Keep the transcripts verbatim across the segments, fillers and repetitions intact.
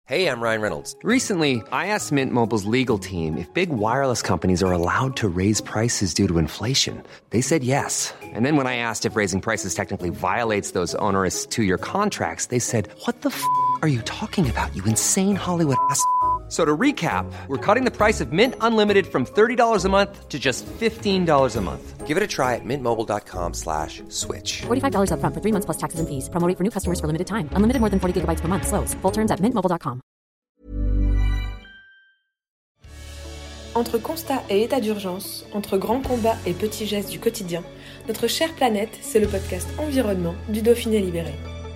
Hey, I'm Ryan Reynolds. Recently, I asked Mint Mobile's legal team if big wireless companies are allowed to raise prices due to inflation. They said yes. And then when I asked if raising prices technically violates those onerous two-year contracts, they said, what the f*** are you talking about, you insane Hollywood ass f- So to recap, we're cutting the price of Mint Unlimited from thirty dollars a month to just fifteen dollars a month. Give it a try at mintmobile.com slash switch. forty-five dollars up front for three months plus taxes and fees. Promo rate for new customers for limited time. Unlimited more than forty gigabytes per month. Slows full terms at mint mobile dot com. Entre constat et état d'urgence, entre grands combats et petits gestes du quotidien, notre chère planète, c'est le podcast Environnement du Dauphiné Libéré.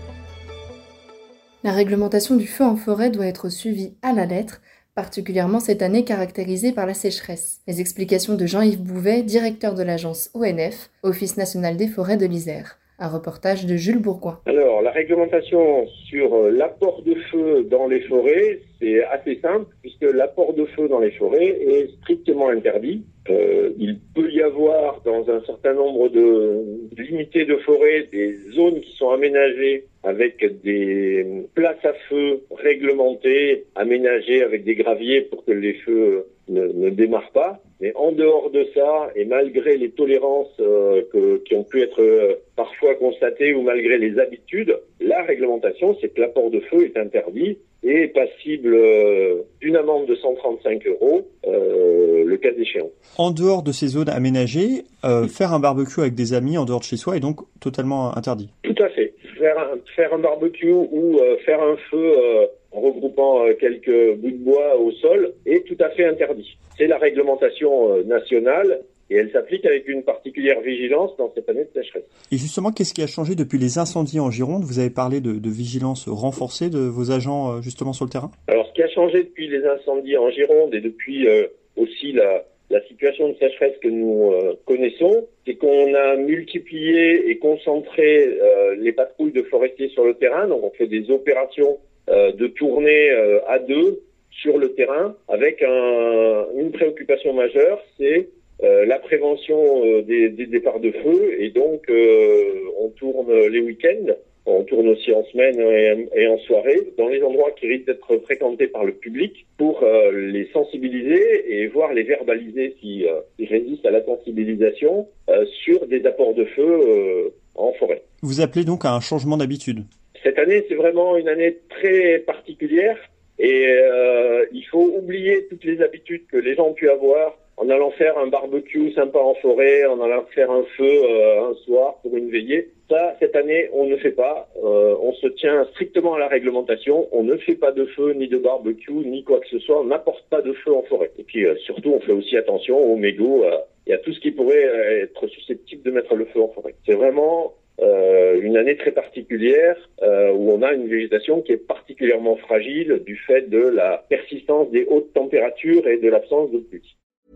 La réglementation du feu en forêt doit être suivie à la lettre, particulièrement cette année caractérisée par la sécheresse. Les explications de Jean-Yves Bouvet, directeur de l'agence O N F, Office national des forêts de l'Isère. Un reportage de Jules Bourgoin. Alors, la réglementation sur l'apport de feu dans les forêts, c'est assez simple, puisque l'apport de feu dans les forêts est strictement interdit. Euh, il peut y avoir dans un certain nombre de limités de forêts des zones qui sont aménagées avec des places à feu réglementées, aménagées avec des graviers pour que les feux ne, ne démarrent pas. Mais en dehors de ça, et malgré les tolérances euh, que, qui ont pu être euh, parfois constatées ou malgré les habitudes, la réglementation, c'est que l'apport de feu est interdit et est passible euh, d'une amende de cent trente-cinq euros, euh, le cas échéant. En dehors de ces zones aménagées, euh, faire un barbecue avec des amis en dehors de chez soi est donc totalement interdit. Tout à fait. Faire un, faire un barbecue ou euh, faire un feu euh, en regroupant euh, quelques bouts de bois au sol est tout à fait interdit. C'est la réglementation euh, nationale et elle s'applique avec une particulière vigilance dans cette année de sécheresse. Et justement, qu'est-ce qui a changé depuis les incendies en Gironde ? Vous avez parlé de, de vigilance renforcée de vos agents euh, justement sur le terrain ? Alors, ce qui a changé depuis les incendies en Gironde et depuis euh, aussi la, la situation de sécheresse que nous euh, connaissons, c'est qu'on a multiplié et concentré euh, les patrouilles de forestiers sur le terrain. Donc, on fait des opérations euh, de tournée euh, à deux sur le terrain avec un, une préoccupation majeure, c'est Euh, la prévention euh, des, des départs de feu, et donc euh, on tourne les week-ends, on tourne aussi en semaine et, et en soirée, dans les endroits qui risquent d'être fréquentés par le public pour euh, les sensibiliser et voir les verbaliser s'ils si, euh, résistent à la sensibilisation euh, sur des apports de feu euh, en forêt. Vous appelez donc à un changement d'habitude ? Cette année, c'est vraiment une année très particulière et euh, il faut oublier toutes les habitudes que les gens ont pu avoir en allant faire un barbecue sympa en forêt, en allant faire un feu euh, un soir pour une veillée. Ça, cette année, on ne fait pas. Euh, on se tient strictement à la réglementation. On ne fait pas de feu, ni de barbecue, ni quoi que ce soit. On n'apporte pas de feu en forêt. Et puis, euh, surtout, on fait aussi attention aux mégots euh, et à tout ce qui pourrait euh, être susceptible de mettre le feu en forêt. C'est vraiment euh, une année très particulière euh, où on a une végétation qui est particulièrement fragile du fait de la persistance des hautes températures et de l'absence de pluie.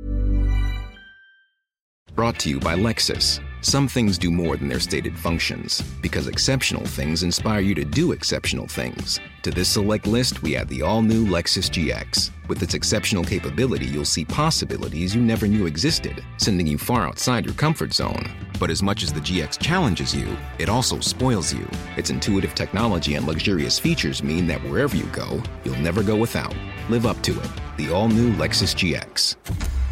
Brought to you by Lexus. Some things do more than their stated functions, because exceptional things inspire you to do exceptional things. To this select list, we add the all-new Lexus G X. With its exceptional capability, you'll see possibilities you never knew existed, sending you far outside your comfort zone. But as much as the G X challenges you, it also spoils you. Its intuitive technology and luxurious features mean that wherever you go, you'll never go without. Live up to it. The all-new Lexus G X.